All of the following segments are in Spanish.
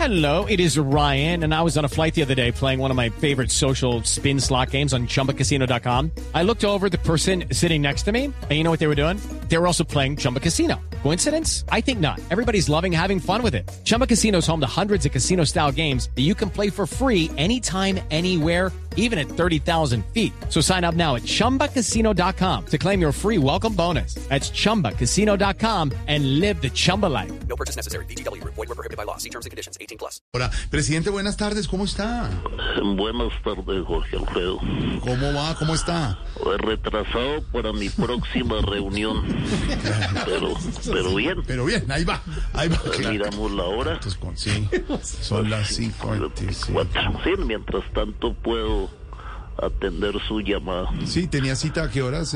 Hello, it is Ryan, and I was on a flight the other day playing one of my favorite social spin slot games on ChumbaCasino.com. I looked over at the person sitting next to me, and you know what they were doing? They were also playing Chumba Casino. Coincidence? I think not. Everybody's loving having fun with it. Chumba Casino is home to hundreds of casino-style games that you can play for free anytime, anywhere, even at 30,000 feet. So sign up now at ChumbaCasino.com to claim your free welcome bonus. That's ChumbaCasino.com and live the Chumba life. No purchase necessary. VGW. Void were prohibited by law. See terms and conditions. 18+. Hola, presidente, buenas tardes, ¿cómo está? Buenas tardes, Jorge Alfredo. ¿Cómo va? ¿Cómo está? Retrasado para mi próxima reunión. Pero bien. Pero bien, ahí va. Miramos la hora. Sí, son las 5:26. Sí, mientras tanto puedo atender su llamada. Sí, tenía cita, ¿a qué horas?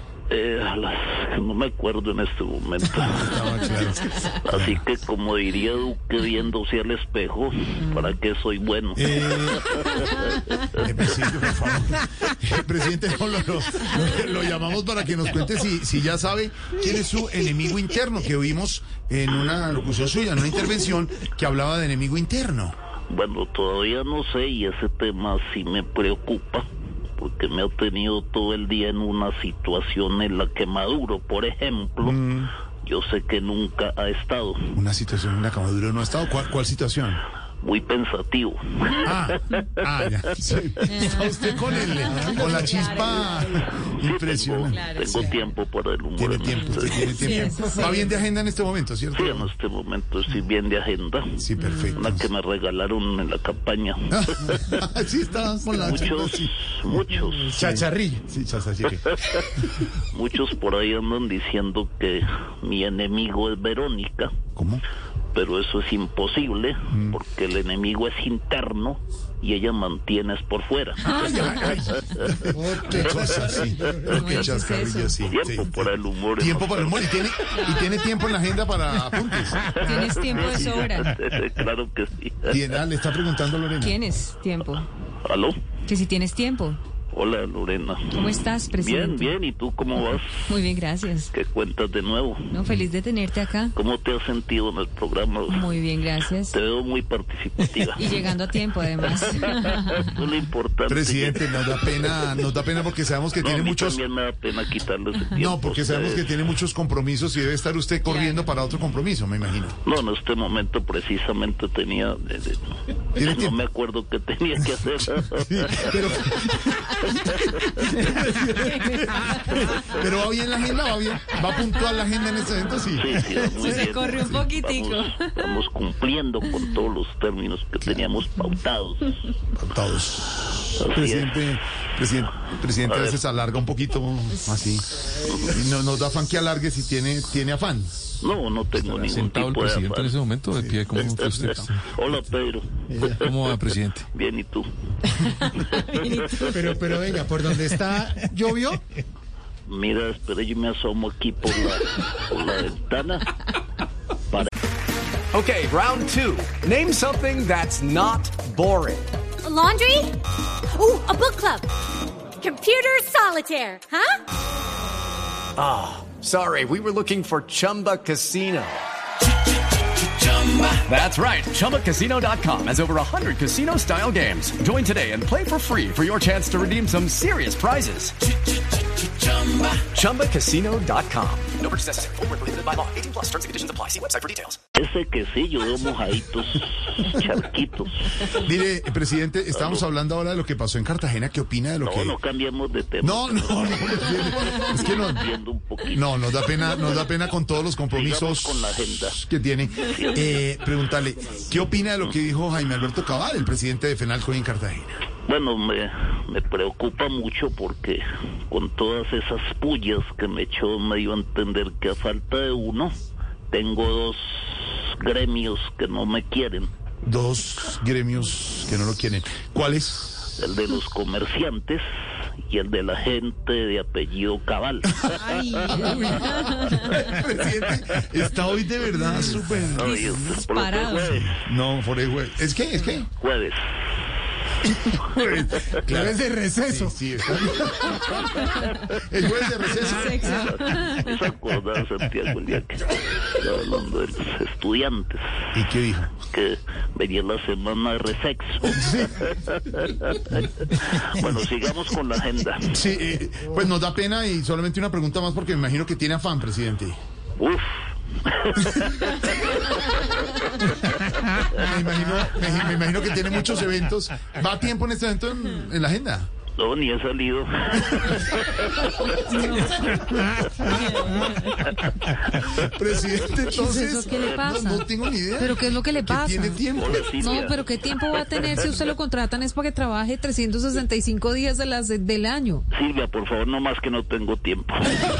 No me acuerdo en este momento. Estaba claro. Así que, como diría Duque viéndose al espejo, ¿para qué soy bueno? Presidente, por favor. Presidente, lo llamamos para que nos cuente si ya sabe quién es su enemigo interno, que oímos en una locución suya, en una intervención que hablaba de enemigo interno. Bueno, todavía no sé, y ese tema sí me preocupa, porque me ha tenido todo el día en una situación en la que Maduro, por ejemplo, yo sé que nunca ha estado. Una situación en la que Maduro no ha estado. ¿Cuál situación? Muy pensativo. Ya. Sí. Está usted con la chispa impresionante. Tengo tiempo para el humor. Tiene tiempo. Sí. Va bien de agenda en este momento, ¿cierto? Sí, en este momento estoy bien de agenda. Sí, perfecto. Una que me regalaron en la campaña. Sí, está con la Muchos. Chacharrillo. Sí, chacharrillo. Muchos por ahí andan diciendo que mi enemigo es Verónica. ¿Cómo? Pero eso es imposible, porque el enemigo es interno y ella mantiene es por fuera. Qué cosa, sí. Qué chascarrillo, sí. Tiempo para el humor. Tiempo para el humor. ¿Y tiene tiempo en la agenda para apuntes? ¿Tienes tiempo de sobra? Claro que sí. Le está preguntando Lorena. ¿Tienes tiempo? ¿Aló? Que si tienes tiempo. Hola, Lorena. ¿Cómo estás, presidente? Bien. ¿Y tú cómo vas? Muy bien, gracias. ¿Qué cuentas de nuevo? No, feliz de tenerte acá. ¿Cómo te has sentido en el programa? Muy bien, gracias. Te veo muy participativa. Y llegando a tiempo, además. Eso es lo importante. Presidente, nos da pena porque sabemos que tiene muchos... También me da pena quitarle ese tiempo. No, porque sabemos que tiene muchos compromisos y debe estar usted corriendo para otro compromiso, me imagino. No, en este momento precisamente tenía... no me acuerdo qué tenía que hacer. Sí, pero va bien la agenda, va puntual la agenda en este evento, sí. Sí, muy Se bien. corre un poquitico. Estamos cumpliendo con todos los términos que teníamos pautados. Todos. Así Presidente, a veces alarga un poquito así. Y no nos da afán que alargue si tiene afán. No tengo ningún sentado el tipo de presidente afán. en ese momento de pie, ¿cómo está usted? Hola, Pedro. ¿Cómo va, presidente? Bien, ¿y tú? Pero venga, ¿por dónde está? ¿Llovió? Mira, espera, yo me asomo aquí por la ventana. Okay, round two. Name something that's not boring. A laundry? Ooh, a book club. Computer solitaire, huh? Sorry, we were looking for Chumba Casino. That's right. ChumbaCasino.com has over 100 casino-style games. Join today and play for free for your chance to redeem some serious prizes. ChumbaCasino.com. No purchase necessary. Void where prohibited by law. 18+. Terms and conditions apply. See website for details. Ese que sí, yo veo mojaditos, charquitos. Mire, presidente, estábamos hablando ahora de lo que pasó en Cartagena. ¿Qué opina de lo que...? No cambiamos de tema. No, es que no... Viendo un poquito. No, nos da pena con todos los compromisos Sigamos con la agenda que tiene. Preguntarle, ¿qué opina de lo que dijo Jaime Alberto Cabal, el presidente de FENALCO en Cartagena? Bueno, me preocupa mucho porque con todas esas pullas que me echó me dio a entender que a falta de uno, tengo dos gremios que no me quieren. Dos gremios que no lo quieren. ¿Cuáles? El de los comerciantes y el de la gente de apellido Cabal. Ay, Presidente, está hoy de verdad súper... Ay, disparado. No, por el jueves. ¿Es qué? Jueves. Claro. Es de receso. Sí, está bien. El jueves de receso. ¿Se acuerda, Santiago, el día que estaba hablando de los estudiantes? ¿Y qué dijo? Que venía la semana de resexo. Bueno, sigamos con la agenda. Sí, pues nos da pena y solamente una pregunta más porque me imagino que tiene afán, presidente. Uf. Me imagino que tiene muchos eventos. ¿Va a tiempo en este evento en la agenda? No, ni he salido. Presidente, entonces... eso? ¿Qué le pasa? No tengo ni idea. ¿Pero qué es lo que le pasa? ¿Tiene tiempo? Hola, Silvia. No, pero ¿qué tiempo va a tener si usted lo contratan? Es para que trabaje 365 días del año. Silvia, por favor, no más que no tengo tiempo.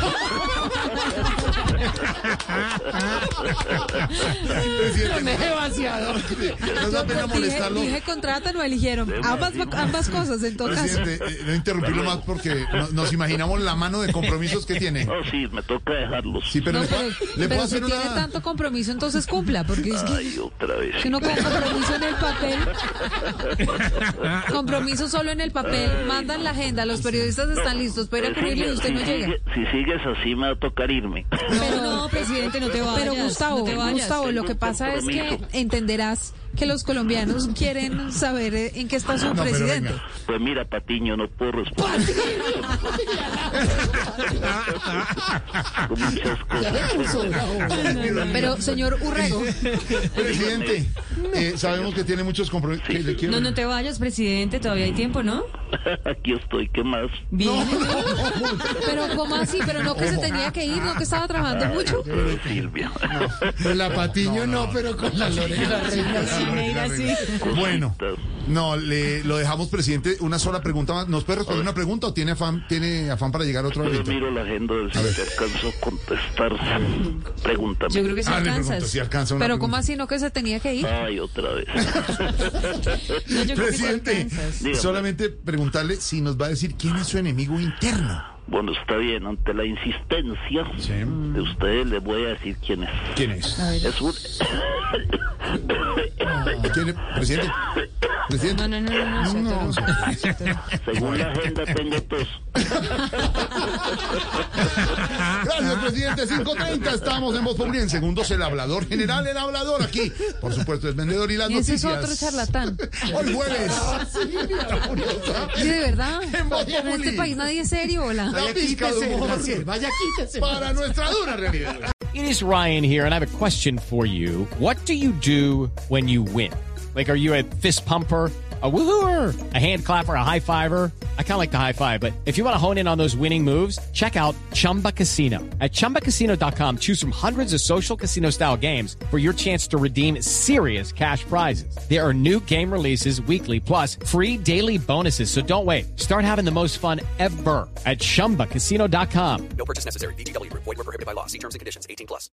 Presidente, demasiado. nos da pena molestarlo. Dije contratan o eligieron. Ambas cosas, en todo caso. Presidente, no interrumpirlo más porque nos imaginamos la mano de compromisos que tiene. No, sí, me toca dejarlos. Sí, pero No, le puedo pero hacer si una... tiene tanto compromiso, entonces cumpla, porque es que Ay, otra vez. si uno con compromiso en el papel, compromiso solo en el papel, mandan la agenda, los periodistas están listos para ir a cubrirlo y usted no llega. Si sigues así, me va a tocar irme. Pero no, presidente, no te vayas. Pero Gustavo, no te vayas. Gustavo, lo Tengo que un pasa es que compromiso. entenderás que los colombianos quieren saber en qué está su No, pero presidente. venga. Pues mira, Patiño, no puedo responder. Con muchas cosas. Pero, señor Urrego, Presidente, sabemos que tiene muchos compromisos. ¿Qué le quiero? No te vayas, presidente, todavía hay tiempo, ¿no? Aquí estoy, ¿qué más? Bien. pero ¿cómo así? Pero no que se tenía que ir, no que estaba trabajando mucho. Pero Silvia. Con la Patiño no, pero con la Lorena Reina sí. Neira, sí. Bueno, no, lo dejamos, presidente. Una sola pregunta más. ¿Nos puede responder una pregunta o tiene afán para llegar a otro Yo evento? miro la agenda de si te alcanzo a contestar. Pregúntame. Yo creo que sí Le pregunto alcanzas. si alcanza una Pero ¿cómo pregunta. así no que se tenía que ir? Ay, otra vez. No, yo creo que sí Presidente, alcanzas. Dígame. solamente preguntarle si nos va a decir quién es su enemigo interno. Bueno, está bien, ante la insistencia Sí. de ustedes les voy a decir quién es. ¿Quién es? Es un... ¿Quién es? Presidente. Presidente. No. Según la agenda tengo tos. Gracias, presidente. 5:30. Estamos en Voz Populi. En segundos, el hablador general, el hablador aquí. Por supuesto, el vendedor y las Y ese es noticias. otro charlatán. Hoy jueves. Sí, de verdad. En Voz En este Populi. país nadie es serio, hola. La pizca de humor Vaya, quítese. para nuestra dura realidad. It is Ryan here, and I have a question for you. What do you do when you win? Like, are you a fist pumper, a woohooer, a hand clapper, a high fiver? I kind of like the high five, but if you want to hone in on those winning moves, check out Chumba Casino. At ChumbaCasino.com, choose from hundreds of social casino-style games for your chance to redeem serious cash prizes. There are new game releases weekly, plus free daily bonuses. So don't wait. Start having the most fun ever at ChumbaCasino.com. No purchase necessary. VGW Group. Void where prohibited by law. See terms and conditions. 18+.